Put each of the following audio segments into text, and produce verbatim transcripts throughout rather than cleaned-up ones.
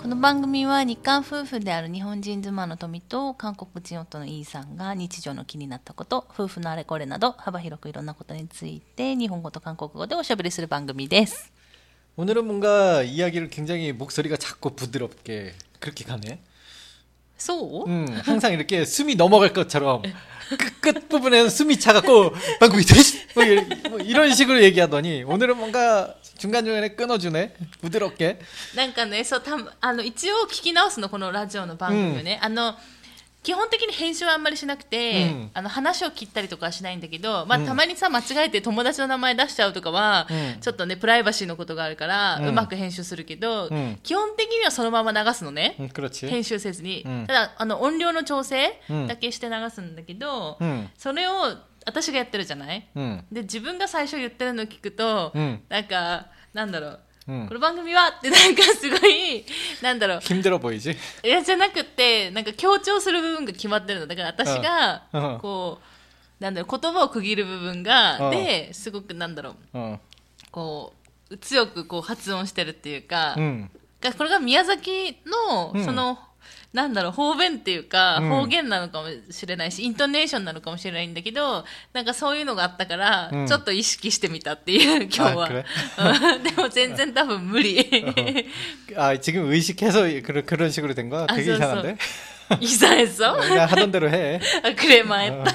この番組は日韓夫婦である日本人妻の富と韓国人夫のイーさんが日常の気になったこと、夫婦のあれこれなど幅広くいろんなことについて日本語と韓国語でおしゃべりする番組です。 오늘은 뭔가 이야기를 굉장히 목소리가 작고 부드럽게 그렇게 가네. そう? 음, 항상 이렇게 숨이 넘어갈 것처럼 끝, 끝 부분에서 숨이 차갖고 방금이 되시 뭐, 뭐 이런 식으로 얘기하더니 오늘은 뭔가 중간중간에 끊어주네. 부드럽게. なんかね、そう、たあの一応聞き直すの、このラジオの番組をね、うん、あの基本的に編集はあんまりしなくて、うん、あの話を切ったりとかはしないんだけど、まあ、たまにさ間違えて友達の名前出しちゃうとかは、うん、ちょっとねプライバシーのことがあるから、うん、うまく編集するけど、うん、基本的にはそのまま流すのね、うん、編集せずに、うん、ただあの音量の調整だけして流すんだけど、うん、それを私がやってるじゃない、うん、で自分が最初言ってるのを聞くと、うん、なんかなんだろう、うん、この番組はってなんかすごいなんだろう 힘들어보이지？ いやじゃなくてなんか強調する部分が決まってるのだから私がこうなんだろう言葉を区切る部分がですごくなんだろうこう強くこう発音してるっていうか、うん、これが宮崎のその、うんなんだろう方言っていうか、うん、方言なのかもしれないしイントネーションなのかもしれないんだけどなんかそういうのがあったから、うん、ちょっと意識してみたっていう今日はでも全然多分無理あ지금 의식해서 그런, 그런 식으로 된 거야? 되게 이상한데? 이상했어? 그냥 하던 대로 해. 아, 그래 망했다.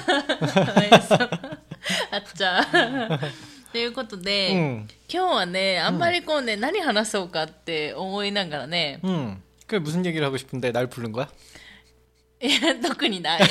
아짜 ということで、うん、今日はねあんまりこうね、うん、何話そうかって思いながらね、 うん그게 무슨 얘기를 하고 싶은데 날 부른 거야? 特にない.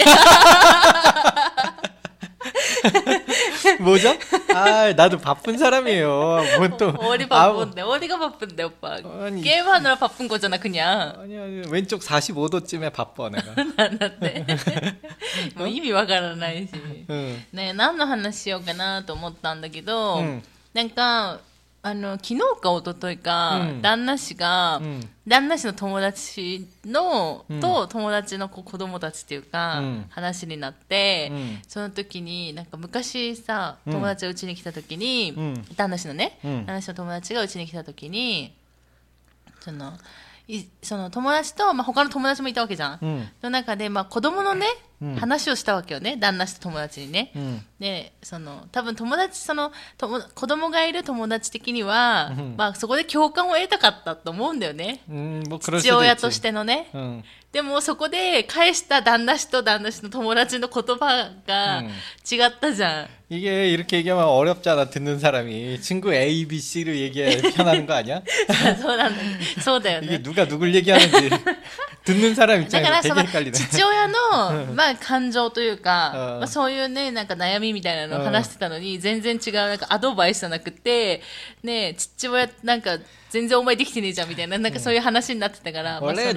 뭐죠? 아, 나도 바쁜 사람이에요. 뭐 또 어디 바쁜데? 아, 어디가 바쁜데, 오빠? 아니, 게임하느라 바쁜 거잖아, 그냥. 아니, 아니, 왼쪽 사십오 도쯤에 바빠, 내가. 난데. 뭐 의미わからないし. 응. 네, 何の話しようかなと思ったんだけど、응. なんかあの昨日か一昨日か、うん、旦那氏が、うん、旦那氏の友達の、うん、と友達の子供たちっていうか、うん、話になって、うん、その時になんか昔さ友達がうちに来た時に、うん、旦那氏のね、うん、旦那氏の友達がうちに来た時にそのいその友達と、まあ、他の友達もいたわけじゃん、うん、の中で、まあ、子供のね、うん、話をしたわけよね旦那氏と友達にね、うん、でその多分友達そのとも子供がいる友達的には、うんまあ、そこで共感を得たかったと思うんだよね、うん、父親としてのね、うん、でもそこで返した旦那氏と旦那氏の友達の言葉が違ったじゃん、 이게 이렇게 얘기하면 어렵잖아 듣는 사람이 친구 A, B, C를 얘기해 편하는 거 아니야? そうだよね 이게 누가 누굴 얘기하는지 듣는 사람 입장에서 되게 헷갈리네. 父親のまあ感情というか、まあ、そういうねなんか悩みみたいなのを話してたのに全然違うなんかアドバイスじゃなくてね父親なんか全然お前できてねえじゃんみたいななんかそういう話になってたから。 원래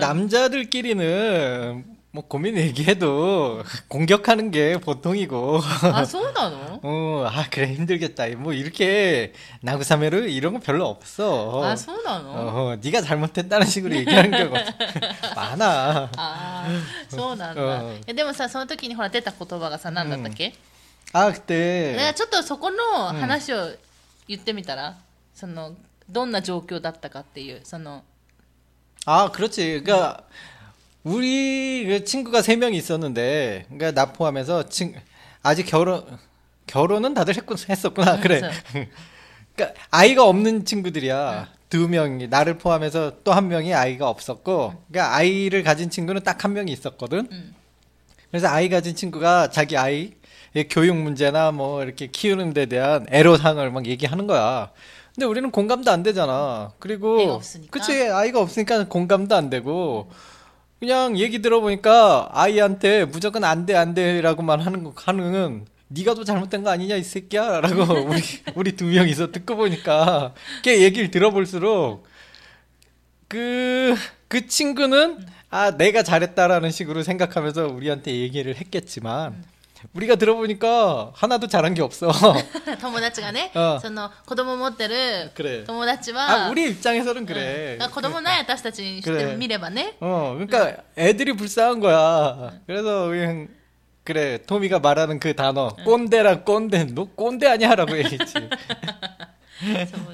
남자들끼리는 뭐 고민 얘기해도 공격하는 게 보통이고. 아, そうなの? 어, 아 그래 힘들겠다. 뭐 이렇게 나구사메르 이런 거 별로 없어. 아, そうなの? 어, 네가 잘못했다는 식으로 얘기하는 경우가 많아. 아, そうなんだ. 어. でもさ、その時にほら出た言葉がさ、何だったっけ? 아, 그때. ね、ちょっとそこの話を言ってみたら、そのどんな状況だったかっていうその. 아, 그렇지. 그러니까. 우리 그 친구가 세 명이 있었는데, 그러니까 나 포함해서 친, 아직 결혼 결혼은 다들 했군 했었구나. 그래. 그러니까 아이가 없는 친구들이야. 응. 두 명이 나를 포함해서 또 한 명이 아이가 없었고, 응. 그러니까 아이를 가진 친구는 딱 한 명이 있었거든. 응. 그래서 아이 가진 친구가 자기 아이 교육 문제나 뭐 이렇게 키우는 데 대한 애로사항을 막 얘기하는 거야. 근데 우리는 공감도 안 되잖아. 그리고 그치 아이가 없으니까 공감도 안 되고. 그냥 얘기 들어보니까 아이한테 무조건 안 돼, 안 돼라고만 하는 거, 하는, 니가 더 잘못된 거 아니냐, 이 새끼야? 라고 우리, 우리 두 명이서 듣고 보니까, 걔 얘기를 들어볼수록, 그, 그 친구는, 아, 내가 잘했다라는 식으로 생각하면서 우리한테 얘기를 했겠지만, 우리가 들어보니까 하나도 잘한 게 없어. 友達がね、その子供持ってる友達は 아, 우리 입장에서는 그래. 子供ない私たちにしてみればね. 어, 그러니까 애들이 불쌍한 거야. 그래서 그냥 그래, 토미가 말하는 그 단어, 꼰대랑 꼰대, 너 꼰대 아니야라고 얘기했지.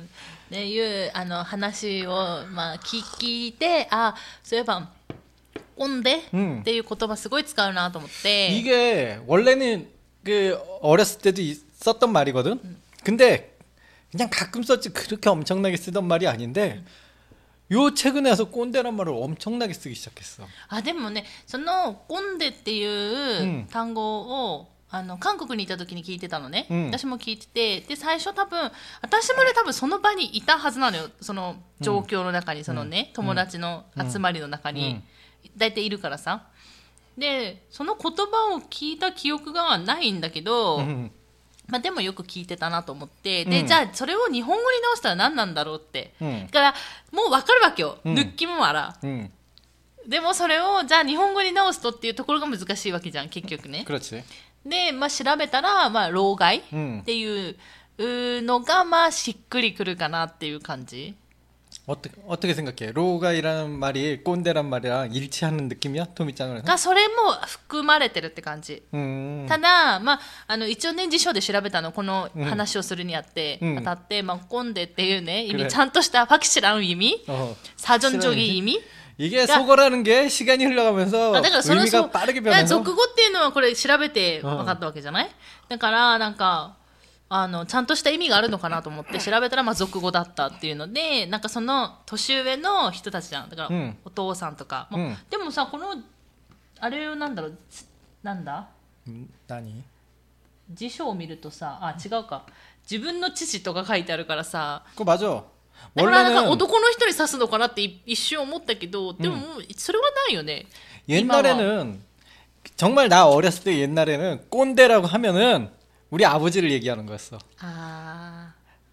っていうあの話を、まあ、聞いて、あ、そういえば꼰대っていう言葉すごい使うなと思って。 이게 원래는 그 어렸을 때도 썼던 말이거든. 음. 근데 그냥 가끔 썼지 그렇게 엄청나게 쓰던 말이 아닌데 요 최근에 와서 꼰대란 말을 엄청나게 쓰기 시작했어. 아, でもね、その꼰대っていう単語をあの韓国にいた時に聞いてたのね、うん、私も聞いてて、で最初多分私もね多分その場にいたはずなのよ、その状況の中に、そのね、うん、友達の集まりの中に、うん、大体いるからさ。でその言葉を聞いた記憶がないんだけど、うん、まあ、でもよく聞いてたなと思って、で、うん、じゃあそれを日本語に直したら何なんだろうって、うん、だからもう分かるわけよ、うん、느낌은 알아、うん、でもそれをじゃあ日本語に直すとっていうところが難しいわけじゃん結局ね。で、まあ、調べたら、まあ、老害っていうのが、まあ、しっくりくるかなっていう感じ。 어떻게, 어떻게 생각해? 로가이라는 말이 꼰대란 말이랑 일치하는 느낌이야? 토미짱은? がそれも含まれてるって感じ。ただ、まあ、あの一応ね辞書で調べたの、この話をするにあって、うん、当たって、まあ、꼰대っていうね意味、ちゃんとした확실한 의미, 사전적인 의미. 이게 속어라는 게 시간이 흘러가면서 아, 의미가 빠르게 변해서. 俗語っていうのはこれ調べて分かったわけじゃない？だからなんか。あのちゃんとした意味があるのかなと思って調べたら、まあ、俗語だったっていうので、なんかその年上の人たちじゃん、だから、うん、お父さんとか、うん、でもさこのあれをなんだろう、なんだ何辞書を見るとさ、あ違うか、自分の父とか書いてあるからさ、 これ맞아。 だからなんか男の人に指すのかなって一瞬思ったけど、でももうそれはないよね。 옛날에는 정말 나 어렸을 때 옛날에는 꼰대라고 하면은 우리 아버지를 얘기하는 거였어. 아...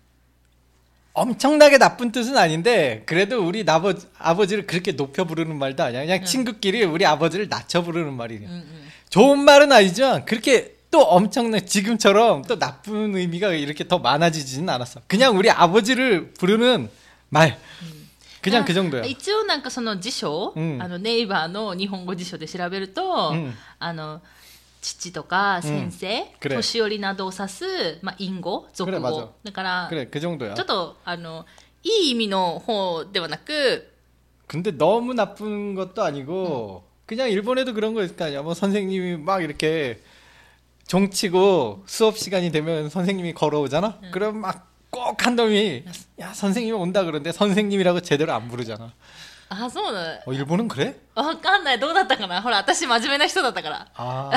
엄청나게 나쁜 뜻은 아닌데 그래도 우리 나버, 아버지를 그렇게 높여 부르는 말도 아니야. 그냥 응. 친구끼리 우리 아버지를 낮춰 부르는 말이야. 응, 응. 좋은 말은 아니지만 그렇게 또 엄청난 지금처럼 또 나쁜 의미가 이렇게 더 많아지지는 않았어. 그냥 우리 아버지를 부르는 말. 그냥 그 정도야. 一応なんかその辞書、あのネイバーの日本語辞書で調べると、あの父とか先生、うん、年寄りなどを指す、まあ、隠語、俗語だから、 그래、그 정도야。 ちょっとあのいい意味の方ではなく、 근데 너무 나쁜 것도 아니고 음. 그냥 일본에도 그런 거 있을 거 아니야. 뭐 선생님이 막 이렇게 종치고 수업 시간이 되면 선생님이 걸어오잖아. 음. 그럼 막 꼭 한 놈이 야 선생님이 온다 그러는데 선생님이라고 제대로 안 부르잖아. あ、そうだ。 어 일본은 그래? わかんない。どうだったかな。ほら、私真面目な人だったから。あ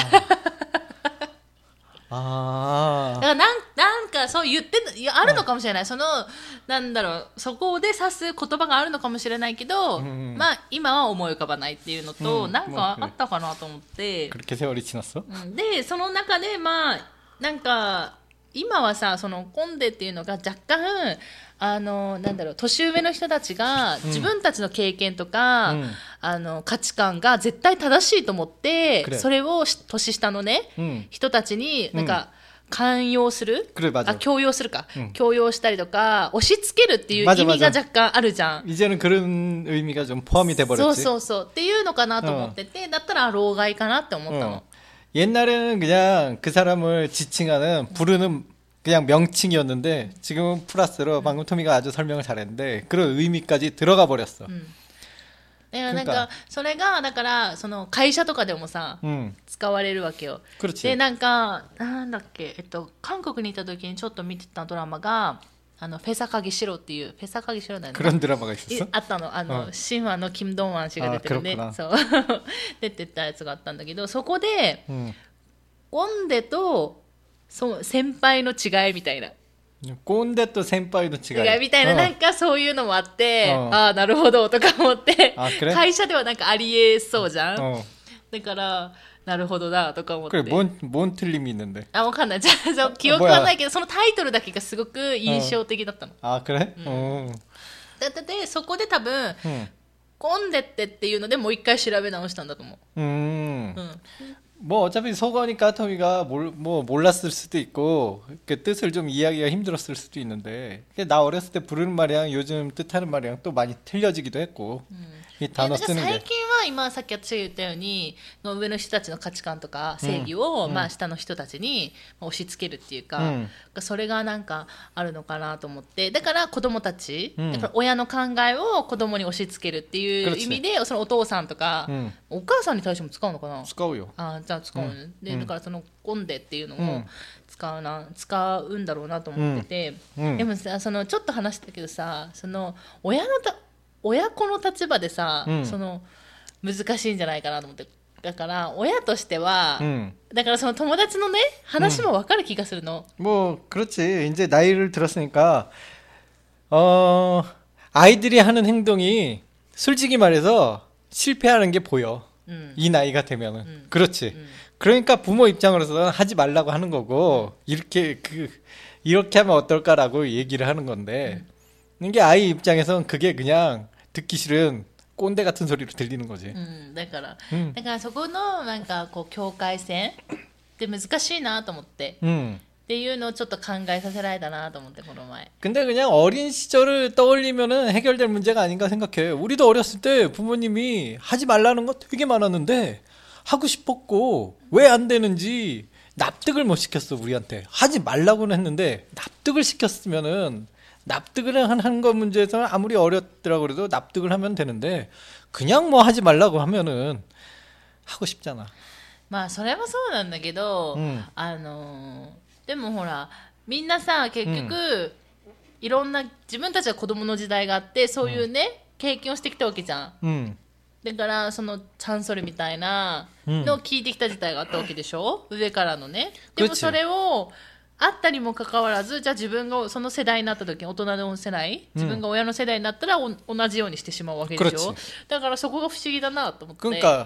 あ。だからなんなんかそう言っていやあるのかもしれない。そのなんだろう、そこで指す言葉があるのかもしれないけど、うん、まあ今は思い浮かばないっていうのと、うん、なんかあったかなと思って。 그렇게 세월이 지났어? でその中でまあなんか今はさ、その꼰대っていうのが若干あのなんだろう、年上の人たちが自分たちの経験とか、うん、あの価値観が絶対正しいと思って、うん、それを年下のね、うん、人たちになんか寛容する、あ強要するか、うん、強要したりとか押し付けるっていう意味が若干あるじゃん。 이제는 그런 의미가 좀 포함이 돼 버렸지。 そうそうそうっていうのかなと思ってて、うん、だったら老害かなって思ったの。 옛날에는 그냥 그 사람을 지칭하는 부르는 그냥 명칭이었는데 지금은 플러스로 방금 토미가 아주 설명을 잘했는데 그런 의미까지 들어가 버렸어. 음. なんかそれがだからその会社とかでもさ、うん、使われるわけよ。でなんかなんだっけ、えっと韓国にいた時にちょっと見てたドラマがあのフェサカギシロっていうフェサカギシロだよね。 그런 드라마가 있었어? あったの、あの、うん、神話のキムドンワン氏が出てるね。そう出てたやつがあったんだけど、そこで、うん、꼰대とそう先輩の違いみたいな。 꼰대と先輩の違い。 違いみたいな、なんかそういうのもあって、うん、ああなるほどとか思って、会社ではなんかありえそうじゃん。うん、だからなるほどだとか思って。 これ뭔뭔틀림이있는데。 あ、わかんない。じゃあ記憶はないけど、そのタイトルだけがすごく印象的だったの。 あ、그래？ うん。だってそこで多分。うん꼰대ってっていうのでもう一回調べ直したんだと思う。うん。うん 뭐 어차피 속어니까 토미가 몰, 뭐 몰랐을 수도 있고 그 뜻을 좀 이해하기가 힘들었을 수도 있는데 나 어렸을 때 부르는 말이랑 요즘 뜻하는 말이랑 또 많이 틀려지기도 했고 음. 이 단어 쓰는 게. 最近今さっき私が言ったように上の人たちの価値観とか正義を、うん、まあ、下の人たちに押し付けるっていうか、うん、それがなんかあるのかなと思って、だから子供たち、うん、だから親の考えを子供に押し付けるっていう意味で、そのお父さんとか、うん、お母さんに対しても使うのかな。 使うよ。 あ、じゃあ使う、ね、うん、でだからそのコンデっていうのを使うな、使うんだろうなと思ってて、うんうん、でもさ、そのちょっと話したけどさ、その親のた親子の立場でさ、うん、その難しいんじゃないかなと思って、だから親としては、うん、だからその友達のね話も分かる気がするの。 뭐 그렇지. 이제 나이를 들었으니까 어 아이들이 하는 행동이 솔직히 말해서 실패하는 게 보여. 음. 이 나이가 되면은. 음. 그렇지. 음. 그러니까 부모 입장으로서는 하지 말라고 하는 거고, 이렇게 그 이렇게 하면 어떨까라고 얘기를 하는 건데, 음. 이게 아이 입장에서는 그게 그냥 듣기 싫은 꼰대 같은 소리로 들리는 거지. 음, だから、 음. だからそこのなんかこう境界線って難しいなと思って。 음. っていうのをちょっと考えさせられたなと思って、この前。 근데 그냥 어린 시절을 떠올리면은 해결될 문제가 아닌가 생각해. 우리도 어렸을 때 부모님이 하지 말라는 거 되게 많았는데 하고 싶었고 왜 안 되는지 납득을 못 시켰어. 우리한테 하지 말라고는 했는데 납득을 시켰으면은, 납득을 하는 거 문제에서는 아무리 어렸더라고 그래도 납득을 하면 되는데 그냥 뭐 하지 말라고 하면은 하고 싶잖아. まあそれはそうなんだけど、うん、あのでもほらみんなさ結局、うん、いろんな自分たちは子供の時代があってそういうね、うん、経験をしてきたわけじゃん、うん、だからそのチャンソルみたいなのを聞いてきた時代があったわけでしょ、うん、上からのね。でもそれをあったにもかかわらず、じゃあ自分がその世代になった時に、大人の世代、自分が親の世代になったらお同じようにしてしまうわけでしょ。だからそこが不思議だなと思って。 그러니까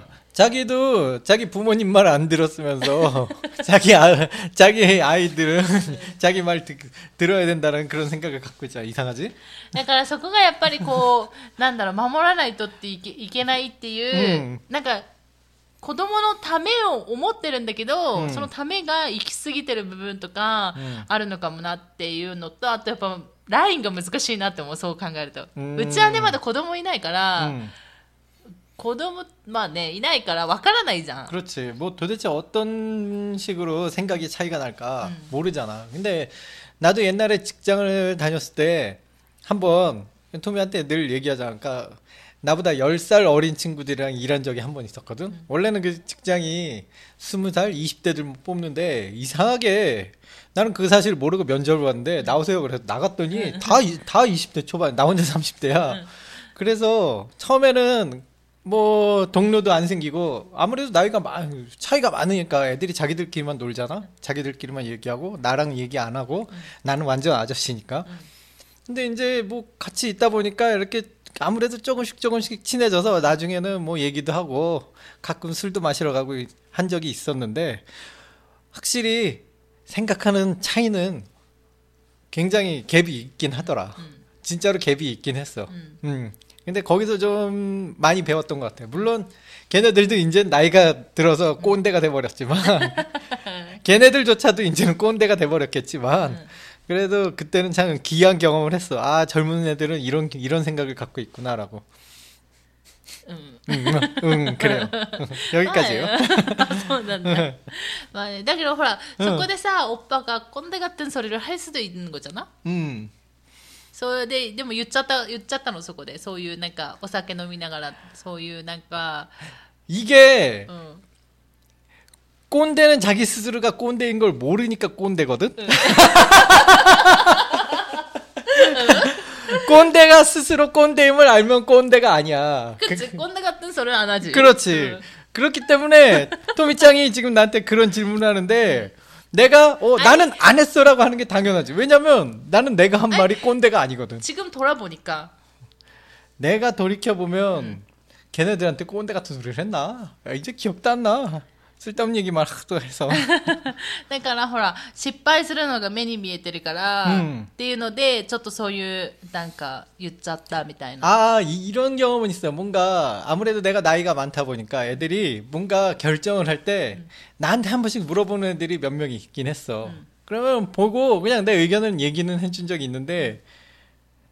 자기도 자기 부모님 말 안 들었으면서 자기 아, 자기 아이들은 자기 말 듣, 들어야 된다는 그런 생각을 갖고 있잖아. 이상하지? だからそこがやっぱりこうなんだろう、守らないとっていけ、いけないっていう、うん、なんか子供のためを思ってるんだけど、うん、そのためが行き過ぎてる部分とかあるのかもなっていうのと、あとやっぱラインが難しいなって思う、そう考えると。 う, うちはねまだ子供いないから、うん、子供まあねいないからわからないじゃん。 그렇지. 뭐 도대체 어떤 식으로 생각이 차이가 날까 음. 모르잖아. 근데 나도 옛날에 직장을 다녔을 때 한번 토미한테 늘 얘기하잖아. 그러니까 나보다 열 살 어린 친구들이랑 일한 적이 한 번 있었거든. 음. 원래는 그 직장이 스무 살, 이십 대들 뽑는데 이상하게 나는 그 사실을 모르고 면접을 봤는데 나오세요 그래서 나갔더니 음. 다, 다 이십 대 초반, 나 혼자 삼십 대야. 음. 그래서 처음에는 뭐 동료도 안 생기고 아무래도 나이가 마, 차이가 많으니까 애들이 자기들끼리만 놀잖아. 자기들끼리만 얘기하고 나랑 얘기 안 하고 음. 나는 완전 아저씨니까. 음. 근데 이제 뭐 같이 있다 보니까 이렇게 아무래도 조금씩 조금씩 친해져서 나중에는 뭐 얘기도 하고 가끔 술도 마시러 가고 한 적이 있었는데 확실히 생각하는 차이는 굉장히 갭이 있긴 하더라. 음. 진짜로 갭이 있긴 했어. 음. 음. 근데 거기서 좀 많이 배웠던 것 같아. 물론 걔네들도 이제 나이가 들어서 꼰대가 돼버렸지만 걔네들조차도 이제는 꼰대가 돼버렸겠지만 음. 그래도 그때는 참 귀한 경험을 했어. 아, 젊은 애들은 이런 이런 생각을 갖고 있구나라고. 응, 응, 응 그래요. 여기까지요. そうなんだ。まあね、だけどほら、そこでさ、おっぱが꼰대 같은 소리를 할 수도 있는 거잖아. 음. それででも言っちゃった言っちゃったのそこで、そういうなんかお酒飲みながらそういうなんか 이게 응. 꼰대는 자기 스스로가 꼰대인 걸 모르니까 꼰대거든? 응. 꼰대가 스스로 꼰대임을 알면 꼰대가 아니야. 그치, 꼰대 같은 소리는 안 하지. 그렇지. 응. 그렇기 때문에 토미짱이 지금 나한테 그런 질문을 하는데 내가 어 아니, 나는 안 했어라고 하는 게 당연하지. 왜냐면 나는 내가 한 말이 아니, 꼰대가 아니거든. 지금 돌아보니까. 내가 돌이켜보면 응. 걔네들한테 꼰대 같은 소리를 했나? 야, 이제 기억도 안 나. 쓸데없는 얘기만 또 해서. だからほら失敗するのが目に見えてるから、うん、っていうのでちょっとそういうなんか言っちゃったみたいな。 아, 이런 경험은 있어요. 뭔가 아무래도 내가 나이가 많다 보니까 애들이 뭔가 결정을 할 때 음. 나한테 한 번씩 물어보는 애들이 몇 명이 있긴 했어. 음. 그러면 보고 그냥 내 의견을 얘기는 해준 적이 있는데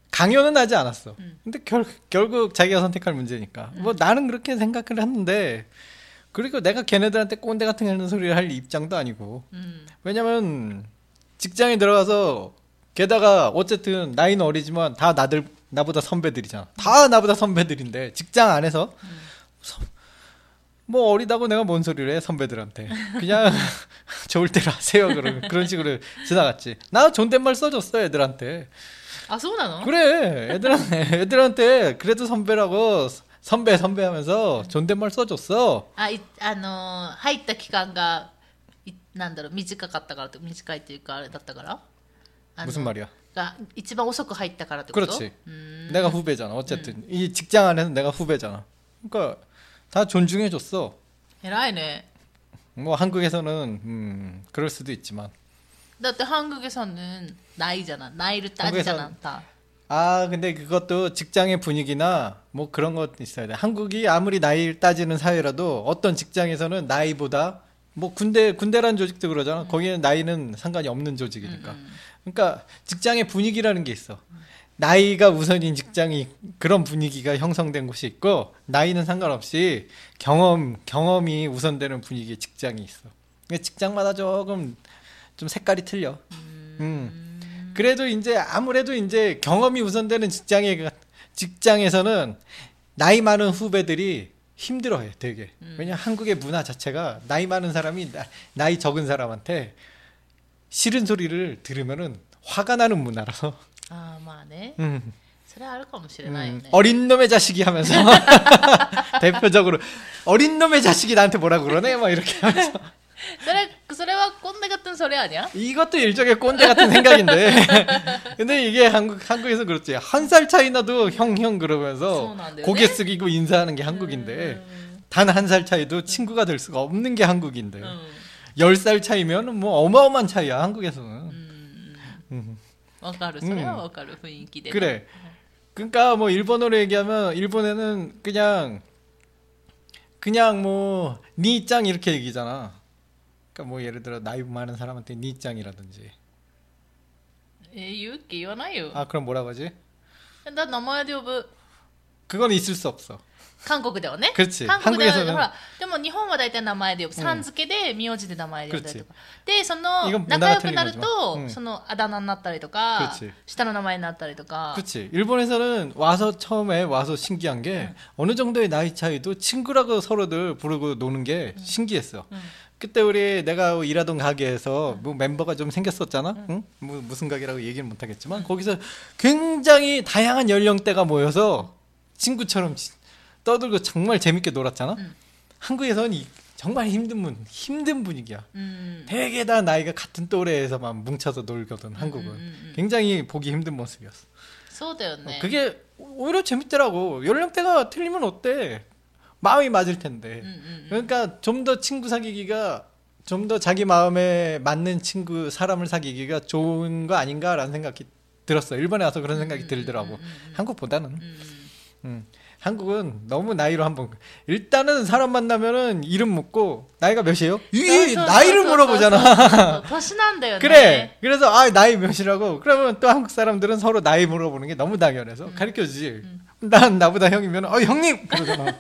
강요는 하지 않았어. 음. 근데 결, 결국 자기가 선택할 문제니까. 음. 뭐 나는 그렇게 생각을 했는데 그리고 내가 걔네들한테 꼰대 같은 하는 소리를 할 입장도 아니고. 음. 왜냐면 직장에 들어가서 게다가 어쨌든 나이는 어리지만 다 나들 나보다 선배들이잖아. 다 나보다 선배들인데 직장 안에서 음. 서, 뭐 어리다고 내가 뭔 소리를 해 선배들한테. 그냥 좋을 대로 하세요. 그런 그런 식으로 지나갔지. 나 존댓말 써줬어 애들한테. 아, そうなの? 그래. 애들한테 애들한테 그래도 선배라고 선배 선배 하면서 존댓말 써줬어. 아, 이, あの入った期間がなんだろう短かったからって短いっていうかあれだったから? 무슨 말이야? 가一番遅く入ったからってこと? 그렇지. 음. 내가 후배잖아. 어쨌든 음. 이 직장 안에서 내가 후배잖아. 그러니까 다 존중해 줬어. 偉いね. 뭐 한국에서는 음, 그럴 수도 있지만. だって한국에서는 나이잖아. 나이를 따지잖아. 다. 아, 근데 그것도 직장의 분위기나 뭐 그런 것 있어야 돼. 한국이 아무리 나이를 따지는 사회라도 어떤 직장에서는 나이보다 뭐 군대 군대라는 조직도 그러잖아. 음. 거기는 나이는 상관이 없는 조직이니까. 음. 그러니까 직장의 분위기라는 게 있어. 음. 나이가 우선인 직장이 그런 분위기가 형성된 곳이 있고 나이는 상관없이 경험 경험이 우선되는 분위기의 직장이 있어. 직장마다 조금 좀 색깔이 틀려. 음. 음. 그래도 이제 아무래도 이제 경험이 우선되는 직장에 직장에서는 나이 많은 후배들이 힘들어해 되게. 음. 왜냐 한국의 문화 자체가 나이 많은 사람이 나, 나이 적은 사람한테 싫은 소리를 들으면은 화가 나는 문화라서. 아, 맞네. 음. それはあるかもしれないよね. 음, 어린 놈의 자식이 하면서 대표적으로 어린 놈의 자식이 나한테 뭐라 그러네 막 이렇게 하면서. それそれは꼰대 같은 소리 아니야? 이것도 일종의 꼰대 같은 생각인데. 근데 이게 한국 한국에서 그렇지. 한 살 차이 나도 형 형 그러면서 고개 숙이고 인사하는 게 한국인데 음. 단 한 살 차이도 친구가 될 수가 없는 게 한국인데. 음. 열 살 차이면 뭐 어마어마한 차이야 한국에서는. 음. 음. わかる. それはわかる雰囲気で. 그래. 그러니까 뭐 일본어로 얘기하면 일본에는 그냥 그냥 뭐 니짱 이렇게 얘기잖아. 그러니까 뭐 예를 들어 나이 많은 사람한테 니짱이라든지. 에, 言うっけ言わないよ. 아, 그럼 뭐라고 하지? 나名前で呼ぶ. 그건 있을 수 없어. 韓国ではね. 그렇지. 한국에서는. ほら, でも日本は大体名前で呼ぶ. さん付けで名字で名前で呼んだりとか. で、その仲良くなるとそのあだ名になったりとか,下の名前になったりとか. 그렇지. 일본에서는 와서 처음에 와서 신기한 게 응. 어느 정도의 나이 차이도 친구라고 서로들 부르고 노는 게 응. 신기했어. 응. 그때 우리 내가 일하던 가게에서 뭐 멤버가 좀 생겼었잖아. 응? 응? 뭐 무슨 가게라고 얘기는 못 하겠지만 응. 거기서 굉장히 다양한 연령대가 모여서 친구처럼 떠들고 정말 재밌게 놀았잖아. 응. 한국에서는 이, 정말 힘든 분, 힘든 분위기야. 음. 되게 다 나이가 같은 또래에서만 뭉쳐서 놀거든. 한국은 음, 음, 음. 굉장히 보기 힘든 모습이었어. 어, 그게 오히려 재밌더라고. 연령대가 틀리면 어때? 마음이 맞을 텐데. 음, 음, 음. 그러니까 좀 더 친구 사귀기가 좀 더 자기 마음에 맞는 친구 사람을 사귀기가 좋은 거 아닌가라는 생각이 들었어. 일본에 와서 그런 생각이 음, 들더라고. 음, 음, 음. 한국보다는. 음. 음. 한국은 너무 나이로 한번 일단은 사람 만나면은 이름 묻고 나이가 몇이에요? 이 나이를 물어보잖아. 그래. 그래서 아 나이 몇이라고. 그러면 또 한국 사람들은 서로 나이 물어보는 게 너무 당연해서 음. 가르쳐주지. 음. 난 나보다 형이면 어 형님 그러잖아.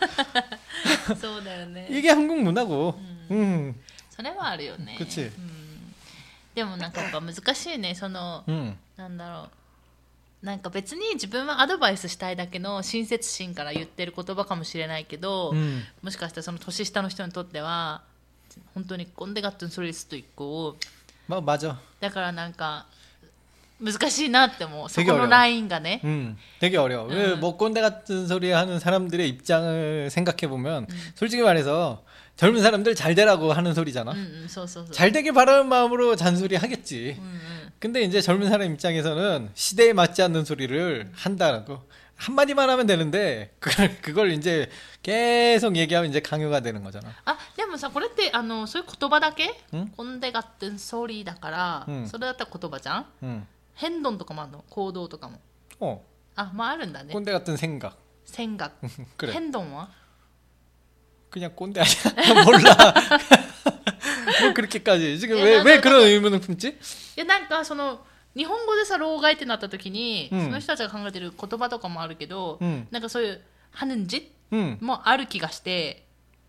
이게 한국 문화고. 음. それはあるよね. 그렇지. でもなんかやっぱ難しいね。そのなんだろう。なんか別に自分はアドバイスしたいだけの親切心から言ってる言葉かもしれないけど、うん、もしかしたらその年下の人にとっては本当に꼰대 같은 소리 수도 있고. 뭐 맞아. だからなんか難しいなって思う. そこのラインがね. 음, 되게 어려워. 음. 뭐 꼰대 같은 소리 하는 사람들의 입장을 생각해 보면 음. 솔직히 말해서 젊은 사람들 잘 되라고 하는 소리잖아. 음, 음, 소, 소, 소. 잘 되길 바라는 마음으로 잔소리 하겠지. 음, 음. 근데 이제 젊은 사람 입장에서는 시대에 맞지 않는 소리를 한다고 한마디만 하면 되는데 그걸 그걸 이제 계속 얘기하면 이제 강요가 되는 거잖아. 아, でもさ、これってあのそういう言葉だけ? 꼰대 같은 소리だから, 응. それだったら言葉じゃん? 응. 変動とかもあるの? 行動とかも. 어. 아, 뭐あるんだね. 꼰대 같은 생각. 생각. 그래. 変動は? 그냥 꼰대 아니야? 몰라. 뭐 그렇게까지 지금 왜 왜 그런 의문을 품지? 야, なんかその日本語でさ老害ってなった時に、 うん、 その人たちが考えてる言葉とかもあるけど、 うん、 なんかそういう하는 짓もある気がして、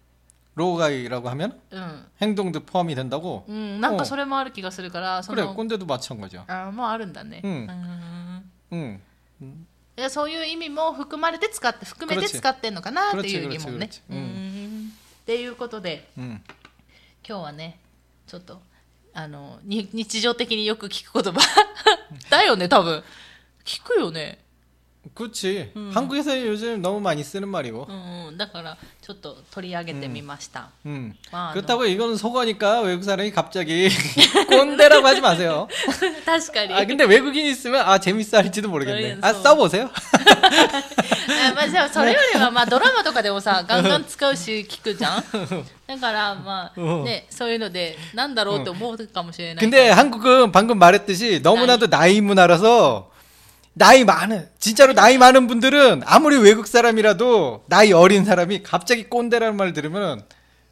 로가이라고 하면 응. 행동도 포함이 된다고? 응, 뭔가 それもある気がするから 그래, 꼰대도 마찬가지야. 아, 뭐あるんだね. 응. 응. 응. そういう意味も含まれて使って含めて使ってんのかなっていう疑問ね。うん。っていうことで、うん、今日はね、ちょっとあの日常的によく聞く言葉だよね、多分。聞くよね。 그렇지. 음. 한국에서 요즘 너무 많이 쓰는 말이고. 음, だからちょっと取り上げてみました. 음. 음. 그렇다고 이거는 속어니까 외국 사람이 갑자기 꼰대라고 하지 마세요. 確かに. 아 근데 외국인이 있으면 아 재밌어 할지도 모르겠네. 아 써보세요. まあでもそれよりはまあドラマとかでもさガンガン使うし聞くじゃん。だからまあねそういうのでなんだろうと思うかもしれない. 근데 한국은 방금 말했듯이 너무나도 나이 문화라서. 나이 많은 진짜로 나이 많은 분들은 아무리 외국 사람이라도 나이 어린 사람이 갑자기 꼰대라는 말 들으면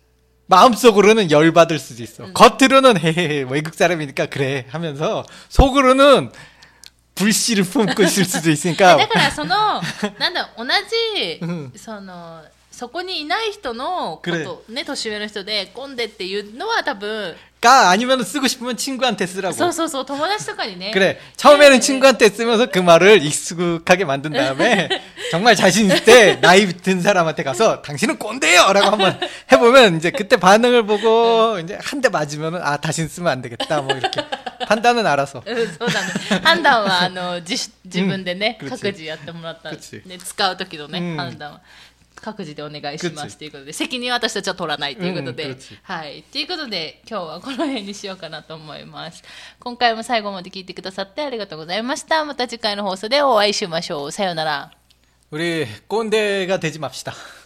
마음속으로는 열받을 수도 있어. 음. 겉으로는 헤헤헤 외국 사람이니까 그래 하면서 속으로는 불씨를 품고 있을 수도 있으니까. だからそのなんだ同じそのそこにいない人のことね年上の人で꼰대っていうのは多分 가 아니면 쓰고 싶으면 친구한테 쓰라고. そうそうそう友達とかにね. 그래. 처음에는 친구한테 쓰면서 그 말을 익숙하게 만든 다음에 정말 자신 있을 때 나이 든 사람한테 가서 당신은 꼰대요라고 한번 해보면 이제 그때 반응을 보고 이제 한 대 맞으면은 아 다시 쓰면 안 되겠다 뭐 이렇게 판단은 알아서. そうだね。判断はあの自自分でね各自やってもらったね使う時のね判断は。各自でお願いしますということで責任は私たちは取らないということで、うん、はいということで今日はこの辺にしようかなと思います。今回も最後まで聞いてくださってありがとうございました。また次回の放送でお会いしましょう。さようなら。 우리 꼰대가 되지 맙시다.